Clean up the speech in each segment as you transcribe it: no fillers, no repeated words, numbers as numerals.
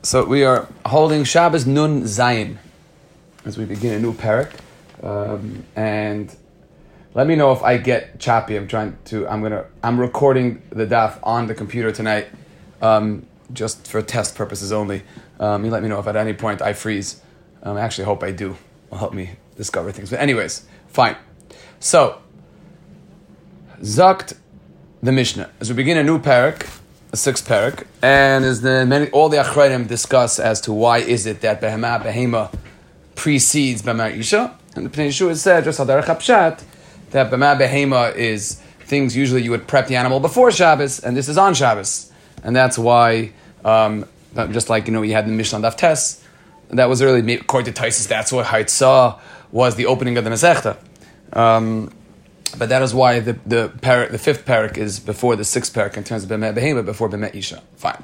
So we are holding Shabbos Nun Zayin as we begin a new parak, and let me know if I get choppy. I'm recording the daf on the computer tonight, just for test purposes only. You let me know if at any point I freeze. I actually hope I do. It'll help me discover things. But anyways, fine. So, Zakt the Mishnah. As we begin a new parak, a sixth parak, and as all the Achrayim discuss as to why is it that Behema precedes Behema Isha, and the Pnei Yeshua said, just Hadarach HaPshat, that Behema is things usually you would prep the animal before Shabbos, and this is on Shabbos. And that's why, just like, you had the Mishnah on Daf Tes, that was early, according to Taisus, that's what Haitzah was the opening of the Masechta. But that is why the fifth parak is before the sixth parak in terms of B'meh Behema, before B'meh Isha. Fine.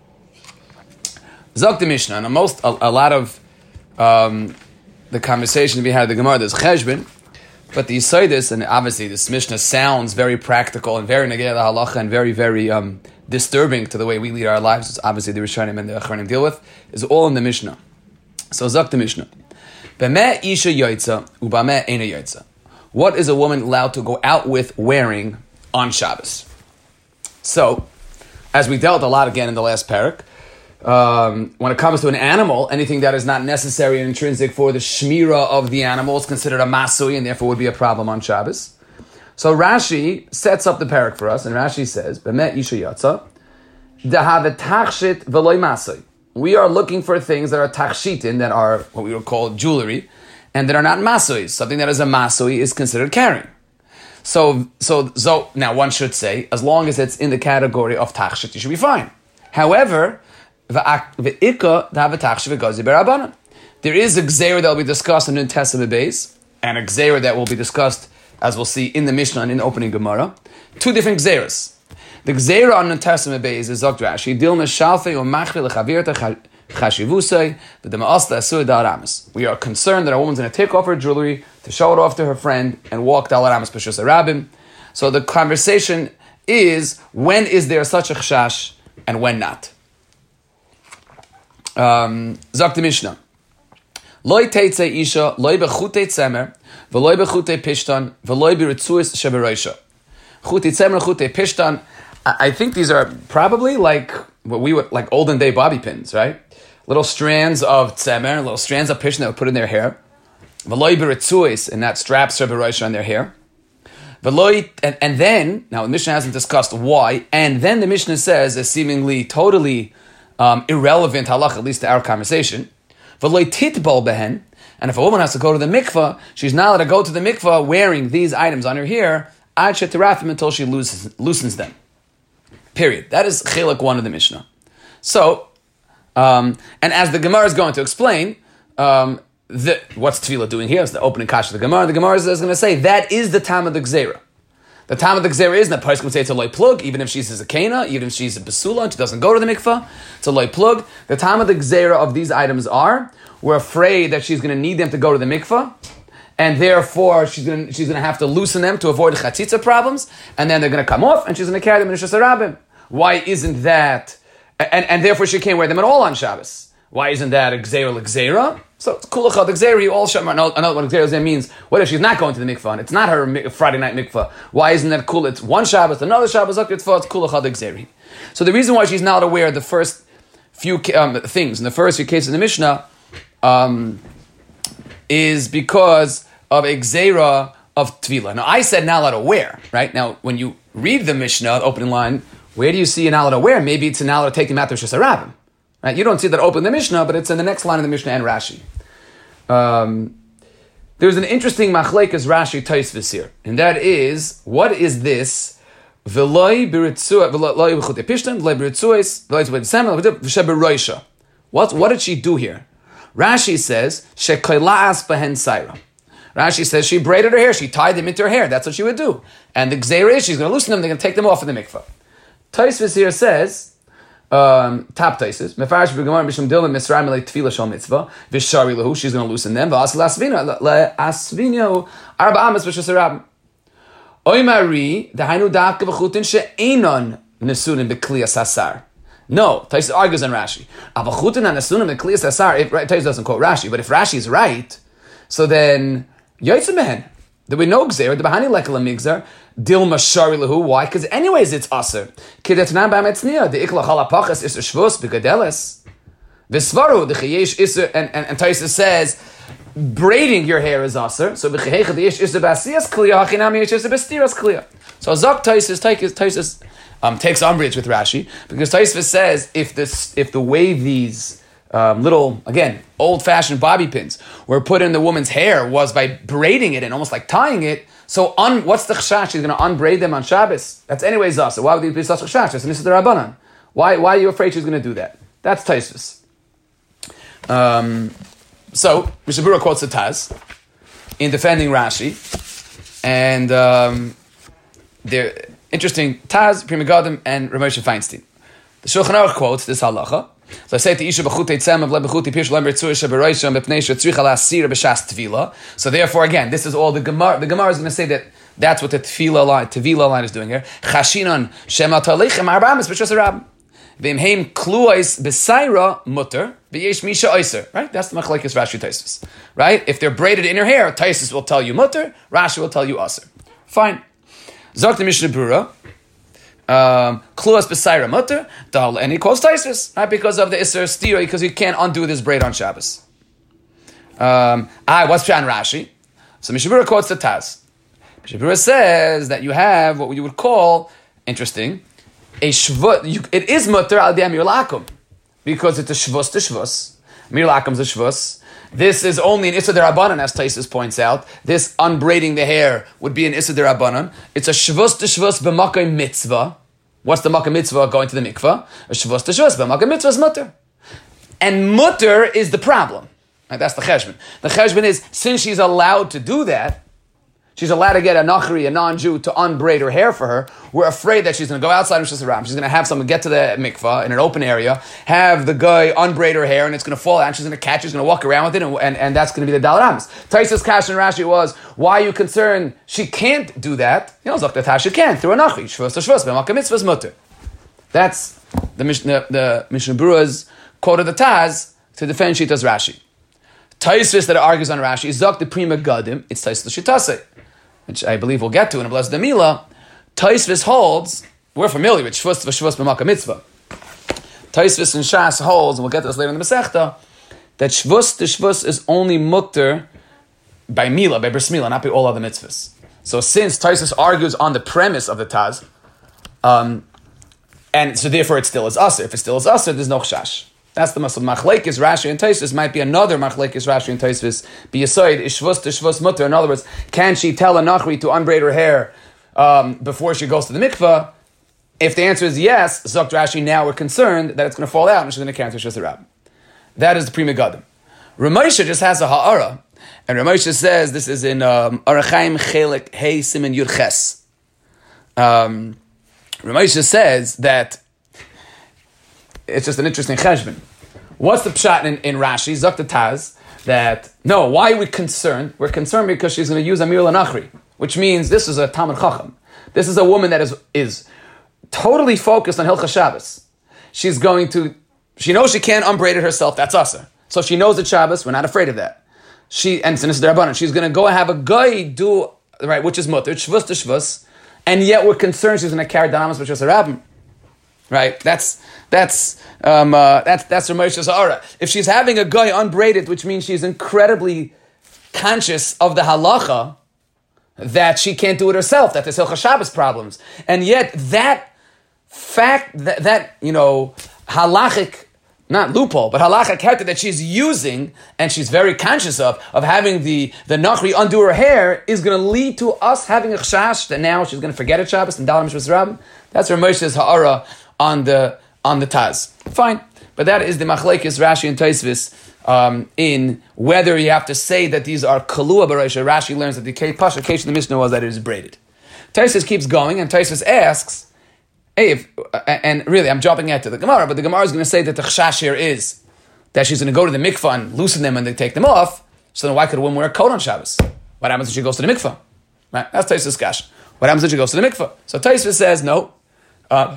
Zok the Mishnah, and a lot of the conversation we had at the Gemara, there's Cheshbon, but the Yisodis, and obviously this Mishnah sounds very practical and very negei la halacha and very, very disturbing to the way we lead our lives, which obviously the Rishonim and the Achronim deal with, is all in the Mishnah. So Zok the Mishnah. B'meh Isha Yoitza, u'b'meh Eina Yoitza. What is a woman allowed to go out with wearing on Shabbos? So, as we dealt a lot again in the last parak, when it comes to an animal, anything that is not necessary and intrinsic for the shmira of the animal is considered a masui and therefore would be a problem on Shabbos. So Rashi sets up the parak for us, and Rashi says, "B'meh isha yatsa, dahavet tachshit v'loy masui." We are looking for things that are tachshitin, that are what we would call jewelry, and that are not masui. Something that is a masui is considered carrying. So now one should say, as long as it's in the category of tachshit, you should be fine. However, there is a gzeira that will be discussed in the Testament base, and a gzeira that will be discussed, as we'll see in the Mishnah and in the opening Gemara. Two different gzeiras. The gzeira on the Testament base is Zok Rashi, Dilma Shalfei or Machri Lechavirta Chashivusei, the Dema'asta Asur Da'aramis. We are concerned that a woman's going to take off her jewelry to show it off to her friend and walk Da'aramis Peshus Arabim. So the conversation is, when is there such a chashash and when not? Zok the Mishnah. Loi teitze isha, loi bechutei tzemer, v'loi bechutei pishtan, v'loi biritzuis sheberoisha. Chutei tzemer, chutei pishtan. I think these are probably like what we would, like olden day bobby pins, right? Little strands of tzemer, little strands of pishtan that would put in their hair. V'loi biritzuis, and that straps sheberoisha on their hair. V'loi, and then, now the Mishnah hasn't discussed why, and then the Mishnah says, a seemingly totally irrelevant halach, at least to our conversation. V'loi titbol behen, and if a woman has to go to the mikvah, she's not allowed to go to the mikvah wearing these items on her hair, ad shetirafim, until she loosens them. Period. That is chilek 1 of the Mishnah. So, and as the Gemara is going to explain, what's Tefillah doing here? It's the opening kash of the Gemara. The Gemara is going to say that is the time of the Gzeira. The time of the Gzeira is, and the person would say it's a loy plug, even if she's a zakena, even if she's a basula, and she doesn't go to the mikvah, it's a loy plug. The time of the Gzeira of these items are, we're afraid that she's going to need them to go to the mikvah, and therefore she's going to have to loosen them to avoid chatzitza problems, and then they're going to come off, and she's going to carry them in Rishus Harabim. Why isn't that, and therefore she can't wear them at all on Shabbos. Why isn't that a Gzeira l'Gzeira? So it's kulachad Gzeira, you all shamar. Another one Gzeira means, what if she's not going to the mikvah, and it's not her Friday night mikvah? Why isn't that cool? It's one Shabbos, another Shabbos, it's kulachad Gzeira. So the reason why she's not aware of the first few things, in the first few cases in the Mishnah, is because of a Gzeira of Tvila. Now I said not allowed to wear, right? Now when you read the Mishnah, the opening line, where do you see an allowed to wear? Maybe it's an allowed to take them out to Rishus Harabim. Right? You don't see that open in the Mishnah, but it's in the next line of the Mishnah and Rashi. There's an interesting machlekes Rashi Tosfos here, and that is, what is this? What did she do here? Rashi says, Rashi says she braided her hair, she tied them into her hair. That's what she would do. And the gzeira is, she's going to loosen them, they're going to take them off in the mikvah. Tosfos here says, top Taisus. Mefarish b'gemara mishum dilim misraim like tefillah shal mitzvah v'shari lehu. She's going to loosen them. V'as le'asvinyo arba amas v'shus harabim. Oymari dahainu dafka v'chutin she'enon nesunin b'kli asasar. No, Taisus argues on Rashi. Avachutin and Asunim the Kliyas Asar. Taisus doesn't quote Rashi, but if Rashi is right, so then Yotzimehen. There we no Gzer, the Bahani Lekala Migzar, Dilma Shari Lahu. Why? Because anyways it's Aser. Kidatnan Bametznia, the Ikla Halapachas is a Shvus, Bigadelis. Visvaru, the Chayesh Isser, and Taisus says, braiding your hair is Aser. So Bichayecha the Ish Isser Basias Kliya, Hachinami Ish Isser Bastiras Kliya. So Zak Taisus takes umbrage with Rashi, because Taisus says, if the way these little, again, old-fashioned bobby pins were put in the woman's hair was by braiding it and almost like tying it. So what's the chashash? She's going to unbraid them on Shabbos. That's anyways Zasa. Why would you be such a chashash? This is the Rabbanan. Why are you afraid she's going to do that? That's Taisus. So Mishnah Berurah quotes the Taz in defending Rashi, and they're interesting. Taz, Pri Megadim, and Ramosha Feinstein. The Shulchan Aruch quotes this halacha. So I say to Isha b'chutei tzem of lebechuti pish lember tzur sheberoisham b'pnei shetzricha la'asir b'shas tvila. So therefore, again, this is all the Gemara. The Gemara is going to say that that's what the tvila line is doing here. Chashinon shema talechem arbamis b'shas arab. V'imheim kluais b'saira mutter v'yesh misha oiser. Right? That's the machlekes Rashi Taisus. Right? If they're braided in her hair, Taisus will tell you mutter, Rashi will tell you oser. Fine. Zok the Mishnah Berurah. Kluas b'saira mutter, and he quotes Taisus, right? Because of the Isser Stira, because you can't undo this braid on Shabbos. What's Pshan Rashi? So Mishnah Berurah quotes the Taz. Mishnah Berurah says that you have what you would call, interesting, a shvut. It is mutter al dem lakum, because it's a shvus to shvus. Mir lakum is a shvus. This is only an Issa Derabanan, as Taisus points out. This unbraiding the hair would be an Issa Derabanan. It's a shvus to shvus b'makay mitzvah. What's the makay mitzvah going to the mikvah? A shvus to shvus b'makay mitzvah is mutter. And mutter is the problem. Right, that's the cheshbon. The cheshbon is, since she's allowed to do that, she's allowed to get a nachri, a non-Jew, to unbraid her hair for her. We're afraid that she's going to go outside Rosh Hashanah. She's going to have someone get to the mikvah in an open area, have the guy unbraid her hair, and it's going to fall out, and she's going to catch it, she's going to walk around with it, and that's going to be the Daled Amos. Taisus Kash and Rashi was, why are you concerned she can't do that? You know, Zok she can, through a nachri. Shvus to shvus, b'makam mitzvah's mutter. That's the Mishnah Berurah's quote of the Taz to defend Shitas Rashi. Taisus that argues on Rashi is Zok the Pri Megadim, it's Taisus L'Shitase, which I believe we'll get to in a blessed Mila. Taisvis holds, we're familiar with Shvus b'makam mitzvah. Taisvis and Shas holds, and we'll get to this later in the Masechta, that Shvus is only mutter by Mila, by Bris Mila, not by all other mitzvahs. So since Taisvis argues on the premise of the Taz, and so therefore it still is Aser. If it still is Aser, there's no Chash. That's the muscle. Machlekes Rashi and Taisvis might be another Machlekes Rashi and Taisvis. Be aside is Shvus to Shvus mutter. In other words, can she tell a nachri to unbraid her hair before she goes to the mikvah? If the answer is yes, Zok Rashi, now we're concerned that it's going to fall out and she's going to cancel Shus Rab. That is the Pri Megadim. Ramosha just has a ha'ara, and Ramosha says this is in Arachaim Chelik Hey Simen Yud Ches. Ramosha says that it's just an interesting cheshbon. What's the pshat in Rashi? Zok the Taz, that, no, why are we concerned? We're concerned because she's going to use Amir Lanachri, which means this is a Talmud Chacham. This is a woman that is totally focused on Hilchas Shabbos. She knows she can't unbraid it herself, that's Asa. So she knows it's Shabbos, we're not afraid of that. And this is the Rabbanan, she's going to go and have a guy do, right, which is mutter, shvus to shvus, and yet we're concerned she's going to carry Danamas which is a rabbin. Right, that's Ramosha's ha'ara. If she's having a guy unbraided, which means she's incredibly conscious of the halacha that she can't do it herself, that there's Hilchas Shabbos problems, and yet that fact that you know halachic, not loophole, but halachic character that she's using and she's very conscious of having the nachri undo her hair is going to lead to us having a chash that now she's going to forget it Shabbos and Dalam Shvus Rab. That's Ramosha's ha'ara on the Taz. Fine. But that is the Machlekes Rashi and Taisvis in whether you have to say that these are Kalua Barosha. Rashi learns that the Pasha case in the Mishnah was that it is braided. Taisvis keeps going, and Taisvis asks, hey, and really I'm jumping ahead to the Gemara, but the Gemara is going to say that the Chash here is that she's going to go to the mikvah and loosen them and they take them off, so then why could a woman wear a coat on Shabbos? What happens if she goes to the mikvah? Right? That's Taisvis Kash. What happens if she goes to the mikvah? So Taisvis says, no,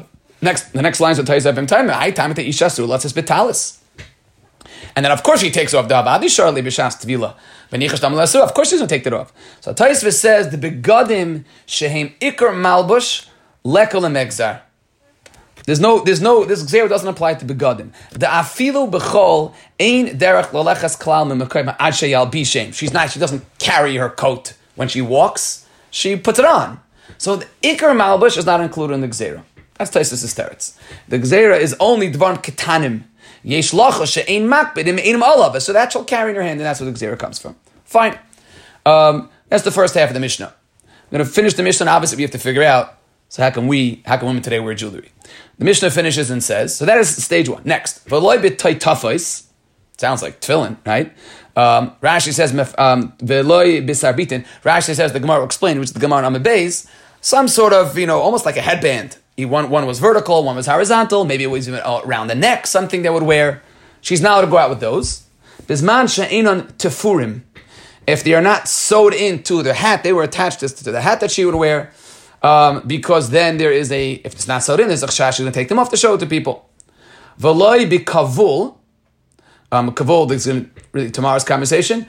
The next lines of Taizavim time, I time to Isha Sur, let's bitalis. And then, of course, he takes off the Abadi Sharli B'Shas Tvila. Of course, he's going to take that off. So Taisva says the begadim shehem ikar malbush lekol emegzar. This gzera doesn't apply to begadim. The afilu b'chol ein derech lolechas klal memekayim ad sheyal bishem. She doesn't carry her coat when she walks. She puts it on. So the ikar malbush is not included in the gzera. That's Taisva's teretz. The gzera is only dvarim ketanim. Yesh lacha she'ein makbid im einim olav. So that shall carry in her hand, and that's where the gzera comes from. Fine. That's the first half of the Mishnah. I'm going to finish the Mishnah, and obviously we have to figure out, so how can women today wear jewelry? The Mishnah finishes and says, so that is stage one. Next, v'loi b'tay tafais, sounds like tefillin, right? Rashi says, v'loi b'sarbitin, Rashi says, the Gemara will explain, which is the Gemara on Beis, some sort of, almost like a headband. One was vertical, one was horizontal, maybe it was even around the neck, something they would wear. She's not allowed to go out with those. Bisman she'enon tefurim. If they are not sewed into the hat, they were attached to the hat that she would wear, because then if it's not sewed in, there's a chash, she's going to take them off to show it to people. V'loi b'kavul, kavul, this is really tomorrow's conversation,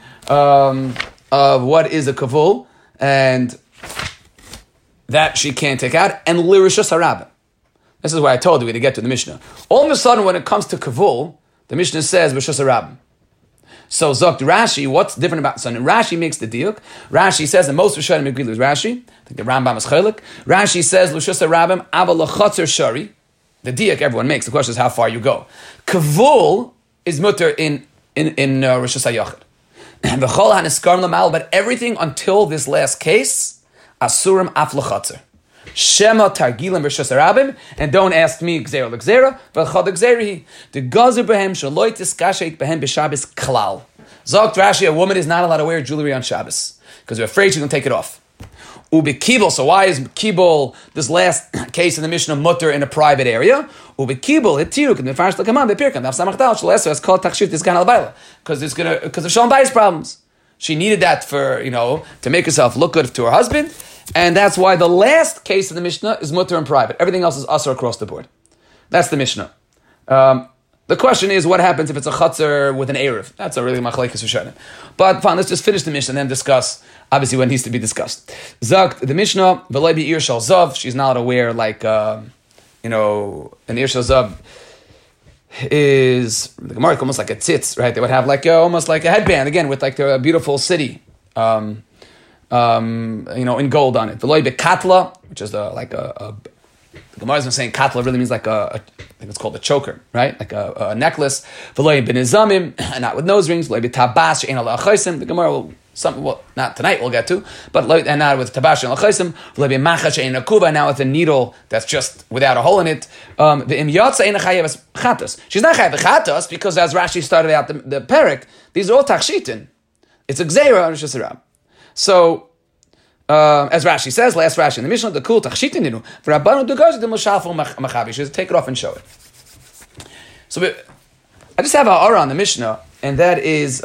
of what is a kavul, and that she can't take out, and lirishus harabim. This is what I told you to get to the Mishnah. All of a sudden, when it comes to kavul, the Mishnah says rishus harabim. So Zokt Rashi, what's different about so Rashi makes the diuk. Rashi says, and most Rishonim agree with Rashi. I think the Rambam is chaylik. Rashi says, Lushus harabim abel lachatzer shari. The diuk everyone makes. The question is how far you go. Kavul is mutter in Rishus HaYachid. V'chol haniskarim l'mal, but everything until this last case, asurim af lachatzer. Shema targilim rishus harabim, and don't ask me gzera l'gzera, v'chad gzerihi. The gazer behem shaloi tiskashet behem b'Shabbos klal. Zokt Rashi, a woman is not allowed to wear jewelry on Shabbos because we're afraid she's going to take it off. Ubekibel, so why is kibel, this last case in the Mishnah, mutter in a private area? Ubekibel, hitiruk, and the farsh l'kamam, bepirkan, daf samachtal, shaleser, it's called takshif, this kind of baila, because of Shalom Bayis problems. She needed that for, to make herself look good to her husband. And that's why the last case of the Mishnah is mutter in private. Everything else is usher across the board. That's the Mishnah. The question is, what happens if it's a chutzner with an erev? That's a really machlekes Rishonim. But fine, let's just finish the Mishnah and then discuss, obviously, what needs to be discussed. Zakt, the Mishnah, v'loi bi ir shal zav, she's not aware, like, an ir shal zav is, the Gemara almost like a tzitz, right? They would have almost like a headband, again, with like a beautiful city. In gold on it. V'loi bekatla, which is the Gemara is saying katla really means like I think it's called a choker, right? Like a necklace. V'loi benizamim, not with nose rings. V'loi betabas she'en ala achaysim. The Gemara will, not tonight we'll get to, but and not with tabash she'en ala achaysim. V'loi b'macha she'en akuba, now with a needle that's just without a hole in it. V'im yotza ein chayev chatas. She's not chayev chatas because as Rashi started out the perek, these are all tachshitin. It's a gzeira on Rishus Harabim. So, as Rashi says, last Rashi in the Mishnah, the kul tachshitinu for Rabbanu Dugazi the Mushafu Machabi. She should take it off and show it. So, I just have a aura on the Mishnah, and that is,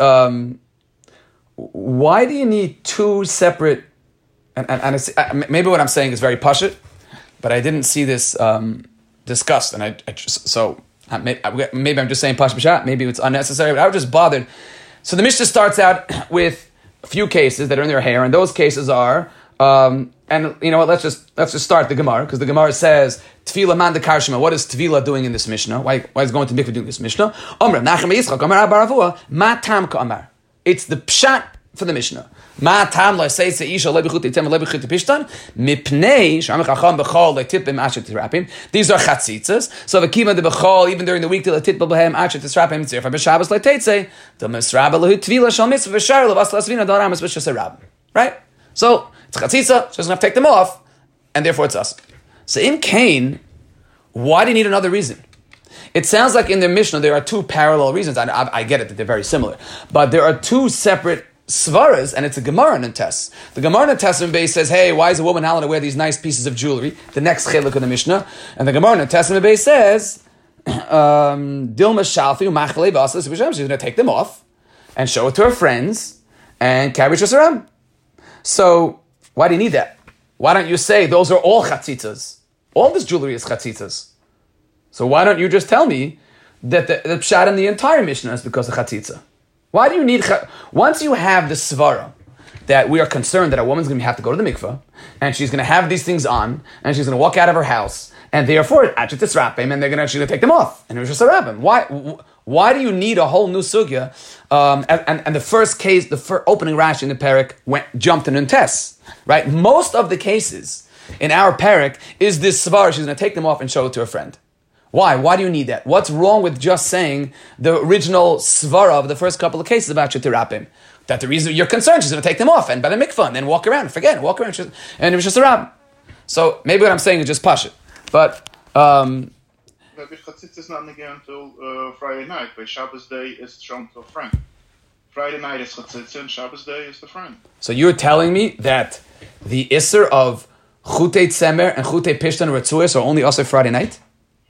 why do you need two separate? And maybe what I'm saying is very pashut, but I didn't see this discussed, and maybe I'm just saying pashut. Maybe it's unnecessary, but I was just bothered. So the Mishnah starts out with a few cases that are in their hair, and those cases are, and you know what? Let's just start the Gemara, because the Gemara says Tefillah man de karshima. What is Tefillah doing in this Mishnah? Why is going to mikveh doing this Mishnah? Omar Nachem Yitzchak Omar Abaravua Ma tam ka'amar. It's the pshat for the Mishnah. Ma tam lo seitze isha lo b'chut yitem lo b'chut pishtan mipnei shamach acham b'chol lo tipim asher tisrapim. These are chatzitzas. So the kima de b'chol even during the week till the titbel b'hem asher tisrapim tzirfa b'shabbos lo teitze the misraba lo tvila shal mitzvah v'shar lo vas lasvina do ramas v'shas rabim. Right? So it's chatzitza. She doesn't have to take them off, and therefore it's us. So in Cain, why do you need another reason? It sounds like in the Mishnah there are two parallel reasons. I get it that they're very similar, but there are two separate svaras, and it's a Gemara Nentes. The Gemara Nentes in Beis says, hey, why is a woman allowed to wear these nice pieces of jewelry? The next chiluk of the Mishnah. And the Gemara Nentes in Beis says, Dilma Shalfi Umachle Basas, she's going to take them off and show it to her friends and carry Rishus Harabim. So, why do you need that? Why don't you say those are all chatzitzas? All this jewelry is chatzitzas. So why don't you just tell me that the pshat in the entire Mishnah is because of chatzitza? Why do you need... Once you have the svara that we are concerned that a woman's going to have to go to the mikveh, and she's going to have these things on, and she's going to walk out of her house, and therefore, and they're going to take them off. And it was just a rabbim. Why do you need a whole new sugya? And the first case, the opening Rashi in the parak jumped in Nuntes, right? Most of the cases in our parak is this svara, she's going to take them off and show it to a friend. Why? Why do you need that? What's wrong with just saying the original svara of the first couple of cases about shetirapim? That the reason you're concerned, she's going to take them off and by the mikvah and then walk around, and walk around, and it was just a rabbin. So maybe what I'm saying is just pashut. But Chatzitz is not again until Friday night. By Shabbos day is shown to a friend. Friday night is chatzitz and Shabbos day is the friend. So you're telling me that the isser of chutei tzemer and chutei pishtan retzuis are only also Friday night?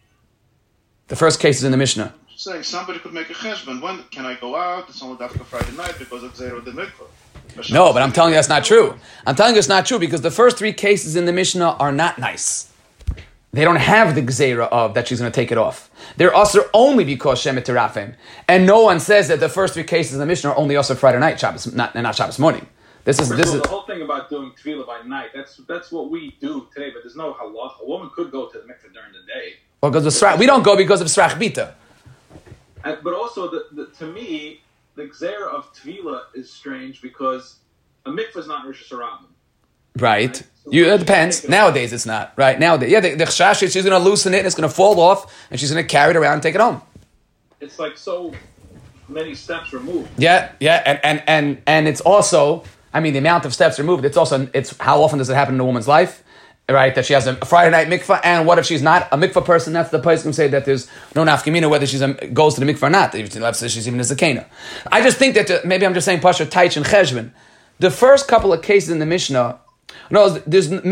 The first case is in the Mishnah. Saying somebody could make a cheshbon. When can I go out? It's only after Friday night because of zero the mikvah. No, but I'm telling you that's not true. I'm telling you it's not true because the first three cases in the Mishnah are not nice. They don't have the gzeira of that she's going to take it off. They're usher only because shemet terafim. And no one says that the first three cases in the Mishnah are only usher Friday night, Shabbos, not Shabbos morning. This is the whole thing about doing tefillah by night. That's what we do today, but there's no halach. A woman could go to the mikveh during the day. Well, because we don't go because of srach bita. But also, to me, the gzeira of tefillah is strange because a mikveh is not Rosh Hashanah. Right. So It depends. Nowadays, it's not. Right. Nowadays. Yeah, the chashash, she's going to loosen it and it's going to fall off and she's going to carry it around and take it home. It's like so many steps removed. Yeah. And it's also, I mean, the amount of steps removed, it's how often does it happen in a woman's life? Right, that she has a Friday night mikvah, and what if she's not a mikvah person? That's the place can say that there's no nafkamina whether she goes to the mikvah or not. She's even a zakena. I just think that maybe I'm just saying pasha taich and cheshvan. The first couple of cases in the Mishnah, there's no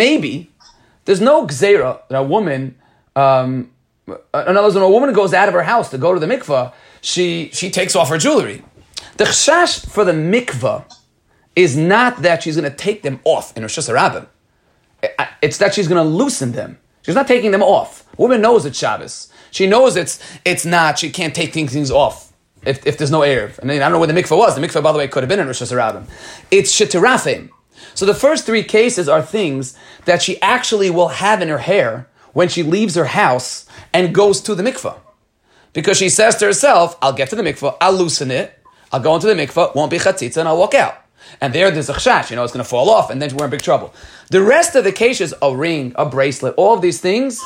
gzeira that a woman. In other words, when a woman goes out of her house to go to the mikvah, she takes off her jewelry. The chashash for the mikvah is not that she's going to take them off in Rosh Hashanah. It's that she's going to loosen them. She's not taking them off. A woman knows it's Shabbos. She knows it's not. She can't take things off if there's no Erev. And I don't know where the mikveh was. The mikveh, by the way, could have been in Rosh Hashanah. It's shetirafim. So the first three cases are things that she actually will have in her hair when she leaves her house and goes to the mikveh. Because she says to herself, I'll get to the mikveh, I'll loosen it, I'll go into the mikveh, won't be chatzitza, and I'll walk out. And there's a chashash, it's going to fall off, and then we're in big trouble. The rest of the cases, a ring, a bracelet, all of these things,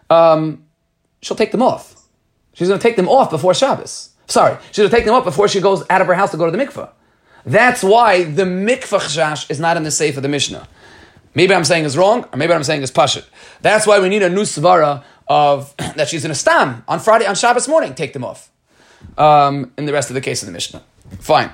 she'll take them off. She's going to take them off before Shabbos. Sorry, she's going to take them off before she goes out of her house to go to the mikveh. That's why the mikveh chashash is not in the seif of the Mishnah. Maybe I'm saying is wrong, or maybe I'm saying is pashut. That's why we need a new svara of that she's going to stam on Shabbos morning, take them off. In the rest of the case of the Mishnah. Fine.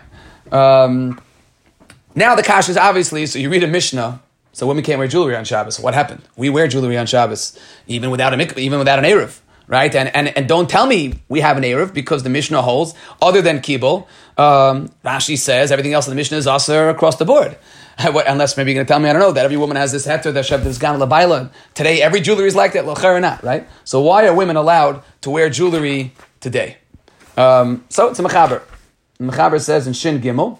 Now the kash is obviously, so you read a Mishnah, so women can't wear jewelry on Shabbos. What happened? We wear jewelry on Shabbos, even without an Erev, right? And don't tell me we have an Erev, because the Mishnah holds, other than Kibble, Rashi says everything else in the Mishnah is also across the board. Unless maybe you're going to tell me, I don't know, that every woman has this heter, that Shev, this gan labaila. Today, every jewelry is like that, l'cher or not, right? So why are women allowed to wear jewelry today? So it's a mechaber. The mechaber says in Shin Gimel,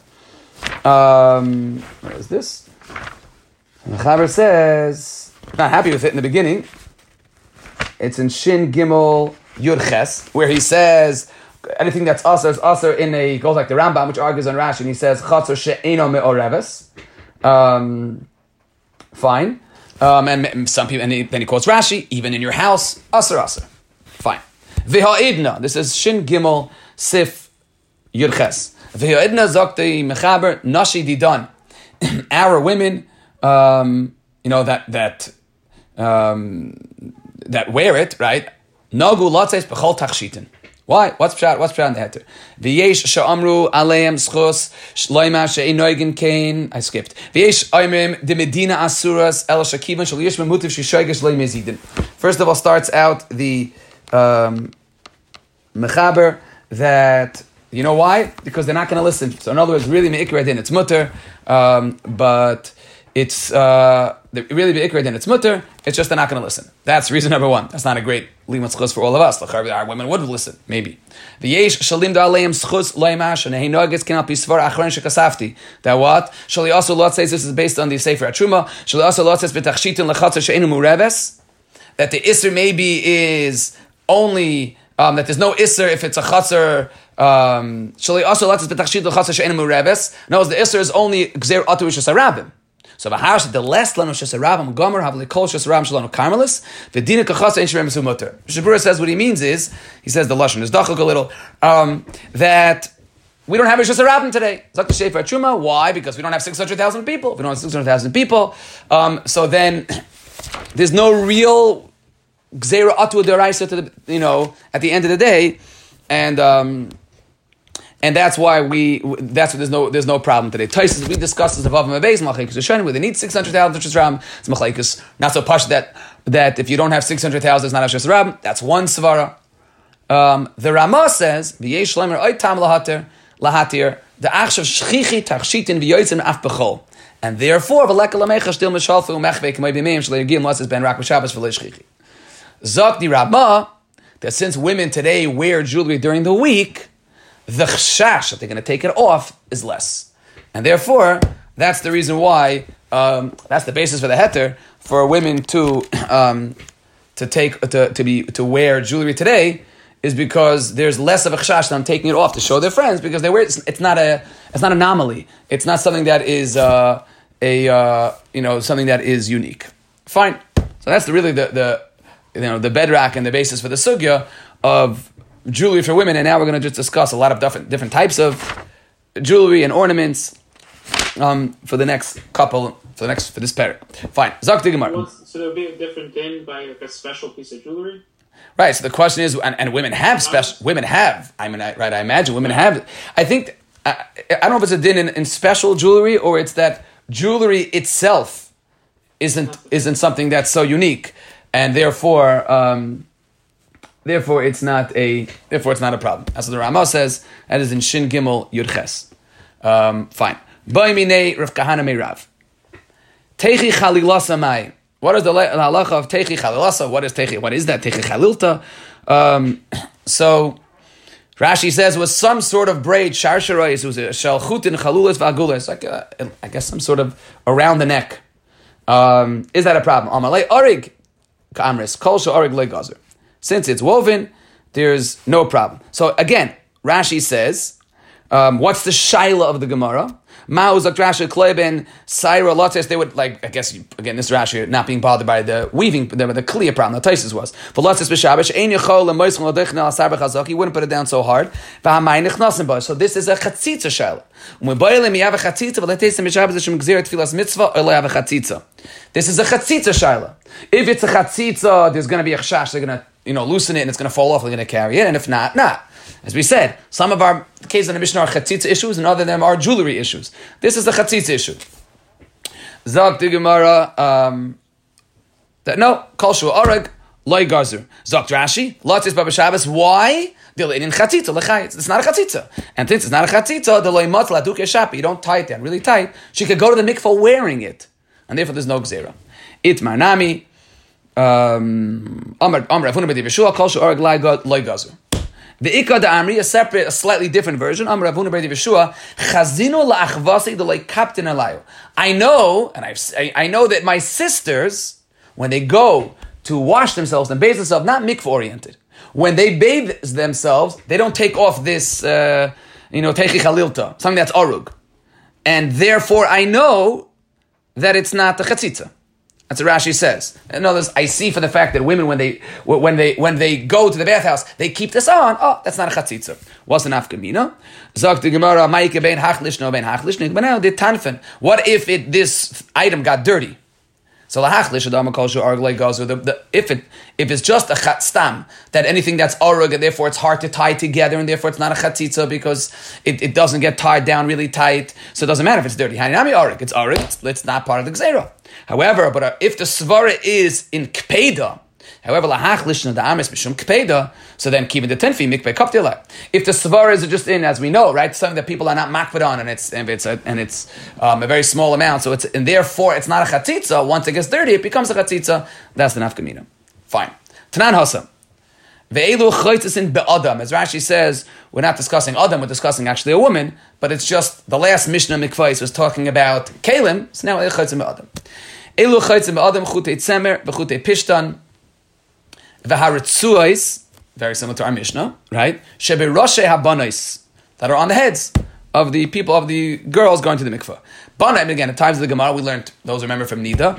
where is this? The Chaber says, not happy with it in the beginning. It's in Shin Gimel Yud Ches, where he says anything that's asr is asr in a, goes like the Rambam, which argues on Rashi, and he says chatzor she'eno me'oreves. Fine. And some people, and then he quotes Rashi, even in your house, asr. Fine. V'ha'idna, this is Shin Gimel Sif Yud Ches. V'ha'idna zokti mechaber nashi didan. Our women, that wear it, right? Nagu latzes b'chol tachshitin. Why? What's pshat in the heter? V'yesh sha'amru aleim schos shloima she'inoigin kain. I skipped. V'yesh oimim de medina asuras el shakivan shal yish memutiv shishoigesh loy mezidin. First of all, starts out the mechaber that, you know why? Because they're not going to listen. So in other words, really me'ikra din. It's mutter, but it's really be ikra, then it's mutter. It's just they're not going to listen. That's reason number one. That's not a great limud schus for all of us. Our women would listen, maybe. V'yesh shalim da aleim schus loimash and heinoges cannot be svar achron shekasafti. That what? Shali also lot says this is based on the Sefer Atruma. Shali also lot says b'tachshitin lechatzer she'enu mureves, that the isser maybe is only that there's no isser if it's a chatzar. Shali also lot says b'tachshitin lechatzer she'enu mureves. No, the isser is only gzer atu shesarabim. So v'harsh the less lanu shesarabim gomer havli kol shesarabim shalanu karmelis v'dina kachasa ein shrem mutter. Shabura says what he means is, he says the lashon is dachuk a little, that we don't have a shesarabim today. Zak the Sefer Truma. Why? Because we don't have 600,000 people. If we don't have 600,000 people, so then there's no real gzeira atu deraisa to the, at the end of the day, and that's why there's no problem today. Taisus, we discussed this above and base machlekes Rishonim, where they need 600,000 shesarabim. It's machlekes not so posh that if you don't have 600,000, it's not a shesarabim. That's one svara. The Ramah says v'yesh shleimer oitam lahatir the achshav shchichi tachshitin v'yotzim af bechol, and therefore v'leka lamecha still mishalfu mechvei k'may b'meim shleigim lasis ben rak b'shabbos v'lei shchichi. Zok the Ramah that since women today wear jewelry during the week, the chashash that they're going to take it off is less, and therefore that's the reason why that's the basis for the heter for women to wear jewelry today, is because there's less of a chashash on taking it off to show their friends because they wear it. It's not an anomaly. It's not something that is something that is unique. Fine. So that's really the bedrock and the basis for the sugya of jewelry for women, and now we're going to just discuss a lot of different types of jewelry and ornaments for this parak. Fine. Zok the Gemara. So there would be a different din by like a special piece of jewelry? Right. So the question is, and women have special. Women have. I imagine women have. I think I don't know if it's a din in special jewelry or it's that jewelry itself isn't something that's so unique, and therefore it's not a problem. That's what the Ramah says. That is in Shin Gimel Yud Ches. Fine. Ba'imine Rav Kahana Meirav. Teichi Chalilasa Mai. What is the halacha of Teichi Chalilasa? What is Teichi? What is that Teichi Chalilta? So Rashi says was some sort of braid. Sharsharais was a shalchutin chalulas v'agulas. Like I guess some sort of around the neck. Is that a problem? Amalei Orig Ka'amris Kol Orig Legazer. Since it's woven, there's no problem. So again, Rashi says, what's the shaila of the Gemara? Ma'uzak Rashi Kleben Saira Lotes. They would I guess again this Rashi not being bothered by the weaving, the clear problem. The Taisus was for Lotes b'Shabbash Ein Yachol leMoisel Ladechnel Asar b'Chazak. He wouldn't put it down so hard. V'Hamay Nichnasim Bo. So this is a chatzitza shaila. When Boilim you have a chatzitza, but let's say Mishabbash Shem Gzeir Tfilas Mitzvah or have a chatzitza. This is a chatzitza shaila. If it's a chatzitza, there's going to be a chashash. They're going to loosen it and it's going to fall off. They're going to carry it, and if not, not. As we said, some of our cases in the Mishnah are chatzitza issues, and other of them are jewelry issues. This is a chatzitza issue. Zak the Gemara that no kol shu arag loy gazer. Zak Rashi lotis baba Shabbos. Why? In chatzitza lechayitz. It's not a chatzitza, and since it's not a chatzitza, the loy matla duke shapi. You don't tie it down really tight. She could go to the mikvah wearing it, and therefore there's no gzera. Itmar nami. Amar Avuna b'Div Yeshua kol shu arag loy gazer. The Ikad Amri, a slightly different version. Amar Avuna b'Div Yeshua chazinu la'achvasi the like captain alayu. I know that my sisters, when they go to wash themselves and bathe themselves, not mikvah oriented. When they bathe themselves, they don't take off this, teichi chalilta, something that's arug, and therefore I know that it's not the chatzitza. That's what Rashi says. In other words, I see from the fact that women, when they go to the bathhouse, they keep this on. Oh, that's not a chatzitza. What's an afkamina? Zok the Gemara, ma'ike bein hachlish no bein hachlish. But now the tanfen. What if this item got dirty? So lahachlish adama kol shu arglei gazu. If it's just a chatstam, that anything that's arug and therefore it's hard to tie together and therefore it's not a chatzitza because it doesn't get tied down really tight, so it doesn't matter if it's dirty. Haninami arug, it's arug. It's not part of the gzeira. However, but if the svara is in kpeda, However, lahach lishna the amis mishum kpeda. So then, keeping the tenfi mikveh kaptila. If the svara is just in, as we know, right, something that people are not makvad on, and it's a very small amount, so and therefore it's not a chatzitza. Once it gets dirty, it becomes a chatzitza. That's the nafkamina. Fine. Tanan Hasa. Ve'elu chaytzisin be'adam. As Rashi says, we're not discussing adam, we're discussing actually a woman, but it's just the last Mishnah Mikvais was talking about kalim, so now chaytzin be'adam. Elu chaytzin be'adam chutei tzemer v'chutei pishtan v'haritzuais, very similar to our Mishnah, right? Sheberoshe habanais, that are on the heads of the people, of the girls going to the mikvah. Banaim, again, at times of the Gemara, we learned, those remember from Nida,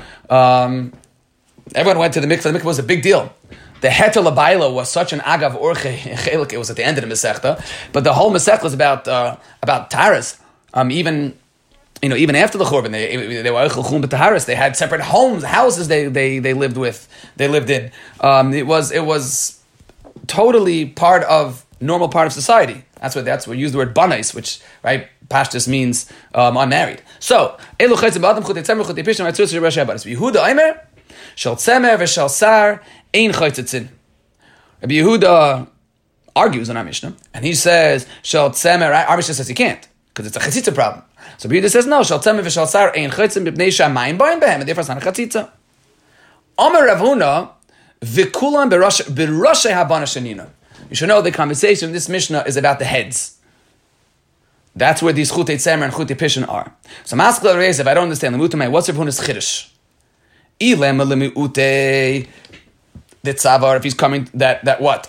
everyone went to the mikvah. The mikvah was a big deal. The heter labayla was such an agav orche chelik. It was at the end of the Masechta, but the whole Masechta was about taharas. Even after the Churban, they were eichel b'taharas. They had separate houses they lived with. They lived in. It was totally normal part of society. That's what we use the word banais, which right pashtus means unmarried. So elu chaytzim b'adam chutei tzemer chutei pishtan v'atzur tzur Rashi Abadas. Yehuda Aimer shel tzemer v'shel sar ein chaytzitzin. Rabbi Yehuda argues on our Mishnah, and he says shel tzemer. Our Mishnah says he can't because it's a chatzitza problem. So Rabbi Yehuda says no. Shel tzemer v'shel sar ein chaytzin b'pnei shamayim ba'im behem, and therefore it's not a chatzitza. Omer Rav Huna v'kulam b'roshe habana shenina. You should know the conversation in this Mishnah is about the heads. That's where these chutei tzemer and chutei pishon are. So Maskal Reis, if I don't understand, what's Rav Huna's chiddush? Ilem lemuute the tzavar, if he's coming, that what?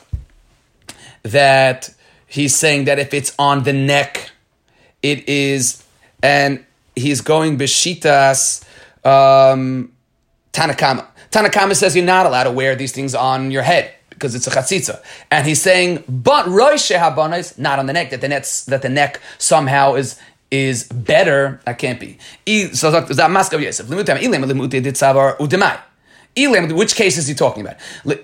That he's saying that if it's on the neck, it is, and he's going b'shitas Tanakama. Tanakama says you're not allowed to wear these things on your head because it's a chatzitza. And he's saying, but rosh habanais, not on the neck, that the neck somehow is better. That can't be. So that maskav Yosef. Which case is he talking about?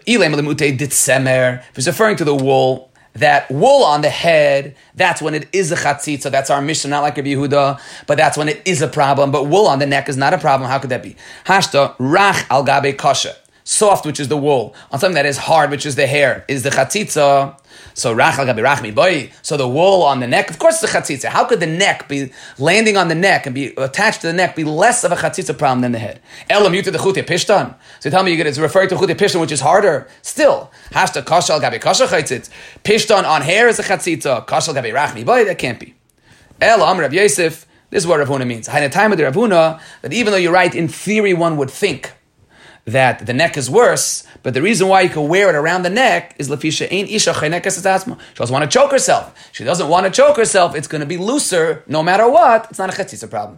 If he's referring to the wool, that wool on the head, that's when it is a chatzitza. That's our Mishnah, not like Rabbi Yehuda, but that's when it is a problem. But wool on the neck is not a problem. How could that be? Hashta rach al gabe kasha. Soft, which is the wool, on something that is hard, which is the hair, is the chatzitza. So rach al gabi rachmi boy. So the wool on the neck, of course, it's a chatzitza. How could the neck be landing on the neck and be attached to the neck be less of a chatzitza problem than the head? Elam yuta the chutei pishtan. So you tell me it's referring to chutei pishtan, which is harder. Still, hashta kasha al gabi kasha chatzitz. Pishtan on hair is a chatzitza. Kasha al gabi rachmi boy. That can't be. Elam Rav Yosef. This is what Rav Huna means. Haina time of the Rav Huna, that even though you're right, in theory, one would think that the neck is worse, but the reason why you can wear it around the neck is lefisha ein isha chaynekas atzma. She doesn't want to choke herself. She doesn't want to choke herself. It's going to be looser no matter what. It's not a chatzitza problem.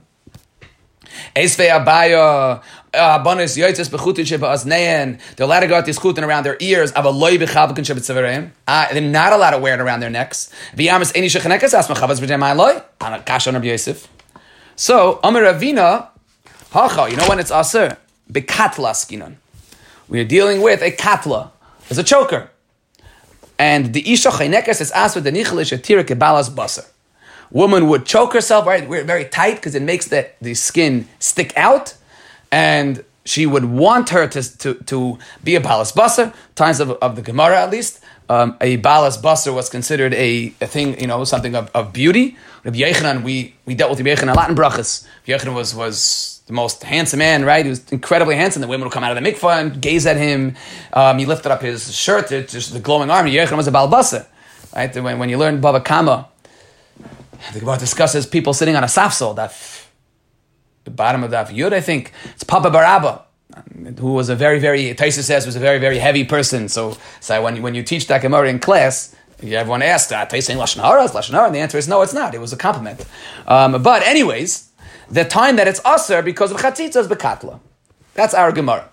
Esvei abaya abanis yoytzes bechutin shebaasnein. They're allowed to go out this chutin around their ears. Avaloi bechavkin shebetzavereim. They're not allowed to wear it around their necks. V'yamis ein isha chaynekas atzma chavas v'jemai loy. Kasha on Rabbi Yosef. So Amar Ravina hacha. You know when it's aser? Bekatla skinon. We are dealing with a katla, as a choker. And the isha chaynekas is asked with the nichelish atira kebalas basar. Woman would choke herself, right? We're very tight because it makes the skin stick out, and she would want her to be a balas basar. Times of the Gemara at least, a balas basar was considered a thing, something of beauty. Rabbi Yochanan, we dealt with Rabbi Yochanan a lot in brachas. Rabbi Yochanan was the most handsome man, right? He was incredibly handsome. The women would come out of the mikvah and gaze at him. He lifted up his shirt, just the glowing arm. Yochanan was a baal basar, right? When you learn Bava Kama, the Gemara discusses people sitting on a safsel, the bottom of Daf Yud, I think. It's Papa Barabba, who was a very, very, Taisa says, was a very, very heavy person. So when you teach that Gemara in class, everyone asks, Taisa saying Lashon Hara? Is Lashon Hara? And the answer is no, it's not. It was a compliment. But anyways, the time that it's aser because of chatzitza is bekatla. That's our Gemara.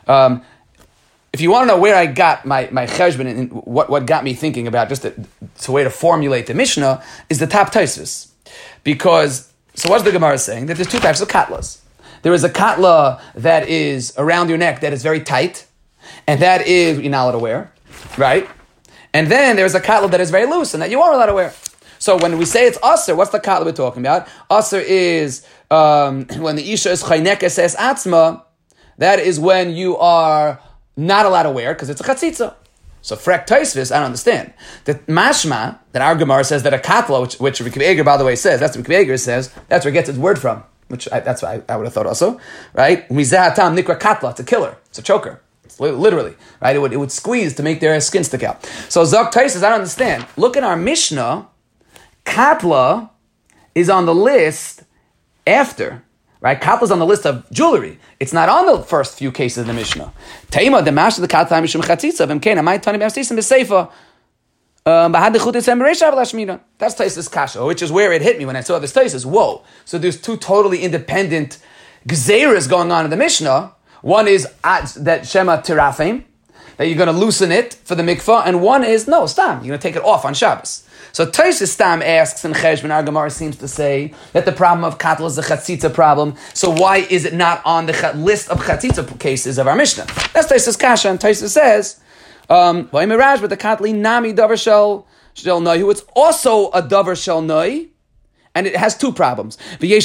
If you want to know where I got my cheshbon and what got me thinking about just it's a way to formulate the Mishnah is the top Tosfos. Because, so what's the Gemara saying? That there's two types of katlas. There is a katla that is around your neck that is very tight, and that is you're not allowed to wear, right? And then there's a katla that is very loose and that you are allowed to wear. So when we say it's aser, what's the katla we're talking about? Aser is when the isha is chaynekes es atzma. That is when you are not allowed to wear because it's a chatzitza. So Frek Tosfos, I don't understand. The mashma, that our Gemara says that a katla, which Rabbi Akiva Eiger, by the way, says, that's what Rabbi Akiva Eiger says, that's where it gets its word from, that's what I would have thought also, right? Mizahatam nikra katla, it's a killer, it's a choker. It's literally, right? It would squeeze to make their skin stick out. So Zok Tosfos, I don't understand. Look at our Mishnah, katla is on the list after, right? Katla is on the list of jewelry. It's not on the first few cases of the Mishnah. Taima, the mash of the katla mishum chatzitza, v'mkein, amay tani b'amstisim b'seifa, bahad dechut etzem b'reisha v'lashmina. That's Tosfos kasha, which is where it hit me when I saw this Tosfos. Whoa. So there's two totally independent gzeiras going on in the Mishnah. One is that Shema Tirafim, that you're going to loosen it for the mikvah, and one is, no, Stam, you're going to take it off on Shabbos. So Tosfos Stam asks, and Cheshbon, our Gemara seems to say that the problem of katla is the chatzitza problem, so why is it not on the list of chatzitza cases of our Mishnah? That's Tosfos kasha, and Tosfos says, why miraj, but the katli nami davar shel noy, it's also a davar shel noy, and it has two problems.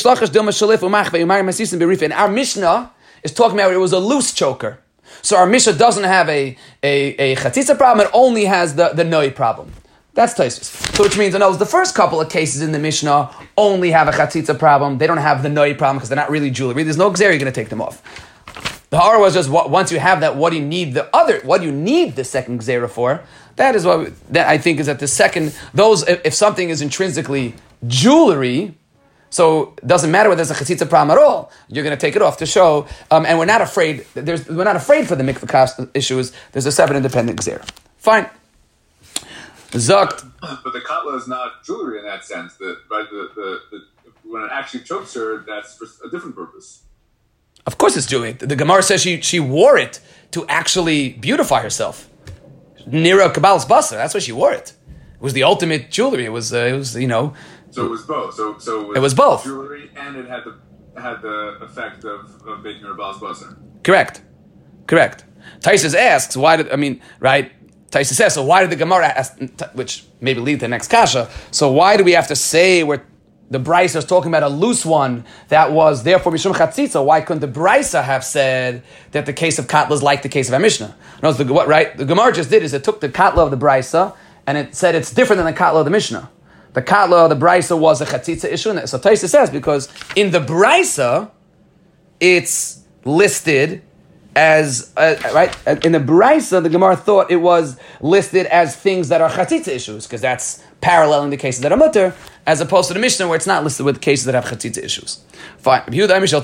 And our Mishnah is talking about it was a loose choker. So our Mishnah doesn't have a chatzitza problem, it only has the noi problem. That's Tosfos. So which means, the first couple of cases in the Mishnah only have a chatzitza problem. They don't have the noi problem because they're not really jewelry. There's no gzera, you're going to take them off. The horror was just, once you have that, what do you need the second gzera for? That is what that I think is that the second, if something is intrinsically jewelry, so it doesn't matter whether there's a chatzitza problem at all. You're going to take it off to show, and we're not afraid. We're not afraid for the mikvah cost issues. There's a separate independent gzera. Fine. Zokt. But the katla is not jewelry in that sense. When it actually chokes her, that's for a different purpose. Of course, it's jewelry. The Gemara says she wore it to actually beautify herself. Nira Kabbal's basar. That's why she wore it. It was the ultimate jewelry. It was. So it was both. So it was both jewelry, and it had the effect of making her Baal basar. Correct. Tosfos asks right? Tosfos says, so why did the Gemara ask, which maybe lead to the next kasha? So why do we have to say where the Brisa is talking about a loose one that was therefore mishum chatzitza? Why couldn't the Brisa have said that the case of katla is like the case of our Mishnah? No, the Gemara just did is it took the katla of the Brisa and it said it's different than the katla of the Mishnah. The katla of the Brisa was a chatzitza issue. So Tosfos says because in the Brisa it's listed as right in the Brisa, the Gemara thought it was listed as things that are chatzitza issues because that's paralleling the cases that are mutter, as opposed to the Mishnah where it's not listed with cases that have chatzitza issues. Fine. Rabbi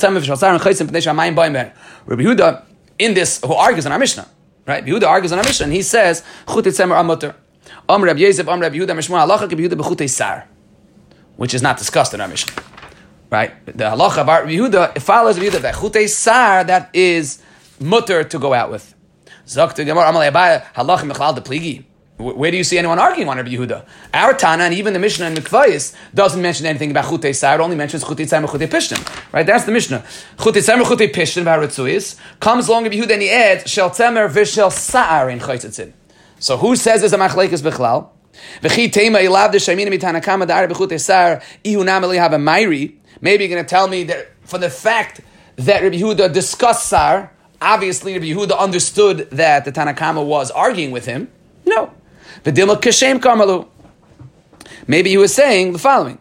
Yehuda in this who argues on our Mishnah, right? Rabbi Yehuda argues on our Mishnah and he says chutei tzemer are mutter. Amr Rabbi Yosef, Amr Rabbi Yehuda, Mishmur halacha ki Yehuda b'chutei sar, which is not discussed in our Mishnah, right? The halacha of Rabbi Yehuda, it follows Rabbi Yehuda that chutei sar that is mutter to go out with. Zok Gemara Amalei Abaye halacha mechlal de pligi. Where do you see anyone arguing on Rabbi Yehuda? Our Tana and even the Mishnah in Mikvayis doesn't mention anything about chutei sar. It only mentions chutei tzemer chutei pishtim. Right? That's the Mishnah. Chutei tzemer chutei pishtim b'haritzuyis comes along Rabbi Yehuda and he adds shel tzemer v'shel sar in chaytzitzin. So who says there's a machlekes b'chlal? V'chi teima ilav de shaymina mitanakama da'ar b'chutei sar ihu nameli have a mayri. Maybe you're going to tell me that for the fact that Rabbi Yehuda discussed sar, obviously Rabbi Yehuda understood that the Tanakama was arguing with him. No. V'dilma kashem karmalu. Maybe he was saying the following.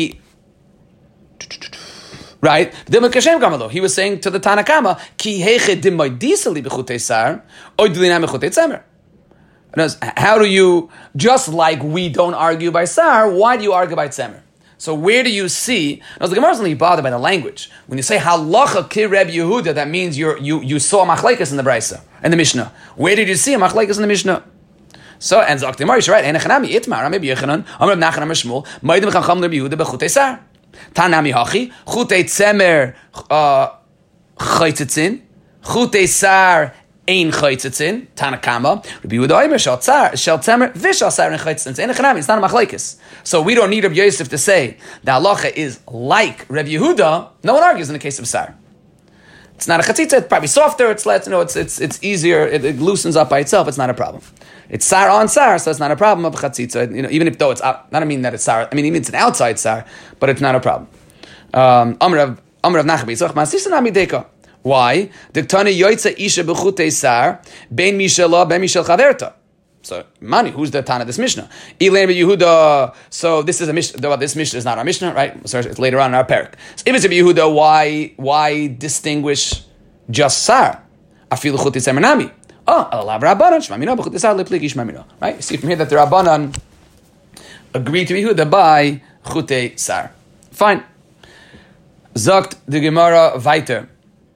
Right? V'dilma kashem karmalu. He was saying to the Tanakama, Ki heche dimmoy disali b'chutei sar, oy dilina b'chutei tzemer. How do you, just like we don't argue by sar, why do you argue by tzemer? So where do you see? Now the Gemara is only bothered by the language. When you say halacha ki Reb Yehuda, that means you saw machlekes in the Brisa and the Mishnah. Where did you see a machlekes in the Mishnah? So and Zok Gemara, you're right. Enechanami itmar, Rabbi Yechanan, Amar Nachman, Amar Shmuel, Ma'adim Chacham Reb Yehuda bechutei sar. Tanami hachi chutei tzemer chaytzitzin, chutei sar. Ein chaytzitzin, Tanakama, Rabbi Yehuda Omer, shel tzemer, v'shel sar in chaytzitzin. It's not a machlekes. So we don't need Rabbi Yosef to say the halacha is like Rabbi Yehuda. No one argues in the case of sar. It's not a chatzitza. It's probably softer. It's easier. It loosens up by itself. It's not a problem. It's sar on sar, so it's not a problem of chatzitza. Even if though it's out, I don't mean that it's sar. I mean it's an outside sar, but it's not a problem. Amr of Nachman Yitzchak Masisa Nami Deka. Why? Diktani yoytza isha b'chutei sar ben mishela ben mishel chaverta. So, Mani, who's the Tana of this Mishnah? Elaine Yehuda. So this is a Mishnah. This Mishnah is not our Mishnah, right? So it's later on in our parak. So if it's a Yehuda, why distinguish just Sar? Afilu chuti semenami. Oh, alav Rabbanan shmamina b'chuti Sar leplik ishmamina. Right? You see from here that the Rabbanan agreed to Yehuda by chutei Sar. Fine. Zogt the Gemara weiter.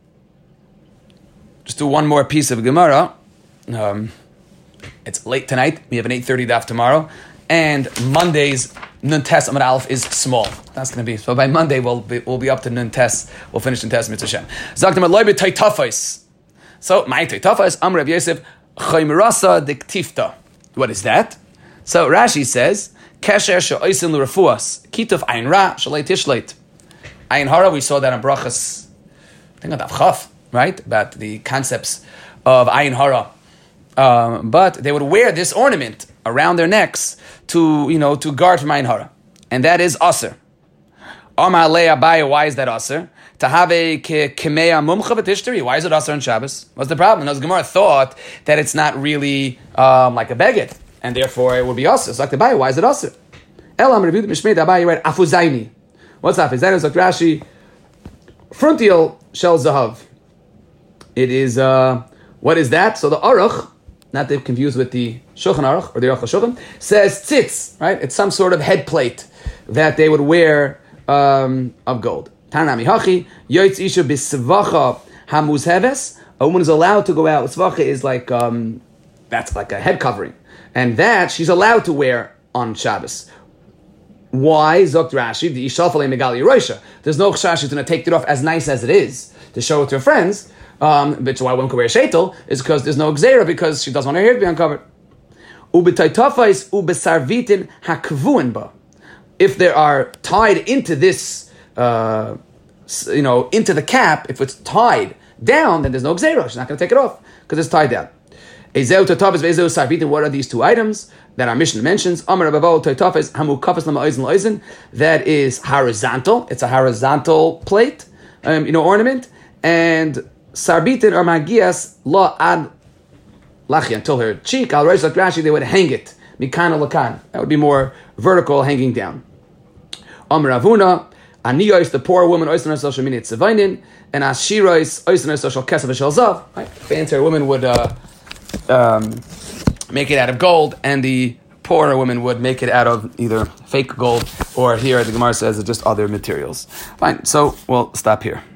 Just do one more piece of Gemara. It's late tonight. We have an 8:30 daf tomorrow, and Monday's Nun Tes Amud Aleph is small. That's going to be so. By Monday we'll be up to Nun Tes. We'll finish Nun Tes Mitzvah Shem. Zaktim Aloy b'Taytafos. So my Taytafos Amr Rav Yosef Chaymirasa Diktifta. What is that? So Rashi says Kesher she'oisin l'refuas kituf ayin ra shalei tishleit ayin hara. We saw that in Brachas. I think on Daf Chaf, right, about the concepts of ayin hara. But they would wear this ornament around their necks to guard from ayin hara, and that is aser. Amar le Abaye, why is that aser? To have a kemeya mumcha v'tishteri. Why is it aser on Shabbos? What's the problem? Because Gemara thought that it's not really like a beged, and therefore it would be aser. So like the Abaye, why is it aser? Elam reviewed Mishmei Abaye right afuzaini. What's afuzaini? It's like Rashi, frontial shel zahav. It is what is that? So the aruch, not to be confused with the Shulchan Aruch or the Aruch HaShulchan, says tzitz, right? It's some sort of head plate that they would wear of gold. Tanami hachi yoytz isha b'svacha hamuzheves. A woman is allowed to go out. Svacha is like that's like a head covering, and that she's allowed to wear on Shabbos. Why? Zokt Rashi the ishafalei megali roisha. There's no chash she's going to take it off as nice as it is to show it to her friends. But why one could wear sheitel is because there's no gzeira, because she doesn't want her hair to be uncovered. Ubetaytafais ubesarvitin hakvuin ba. If they are tied into this, into the cap, if it's tied down, then there's no gzeira. She's not going to take it off because it's tied down. Ezeu tatafis ve'ezeu sarvitin. What are these two items that our Mishnah mentions? Amar Rabbav tatafis hamu kafas lama oizen loizen. That is horizontal. It's a horizontal plate, ornament, and sarbitin or magias la ad lachi, until her cheek. Al reish like Rashi, they would hang it mikan lakan. That would be more vertical, hanging down. Amar Avuna aniyos, the poor woman oisin herself sheminit tzevainin, and ashiros oisin herself shel kesef shel zav. Fancier woman would make it out of gold, and the poorer woman would make it out of either fake gold or, here the Gemara says, just other materials. Fine, so we'll stop here.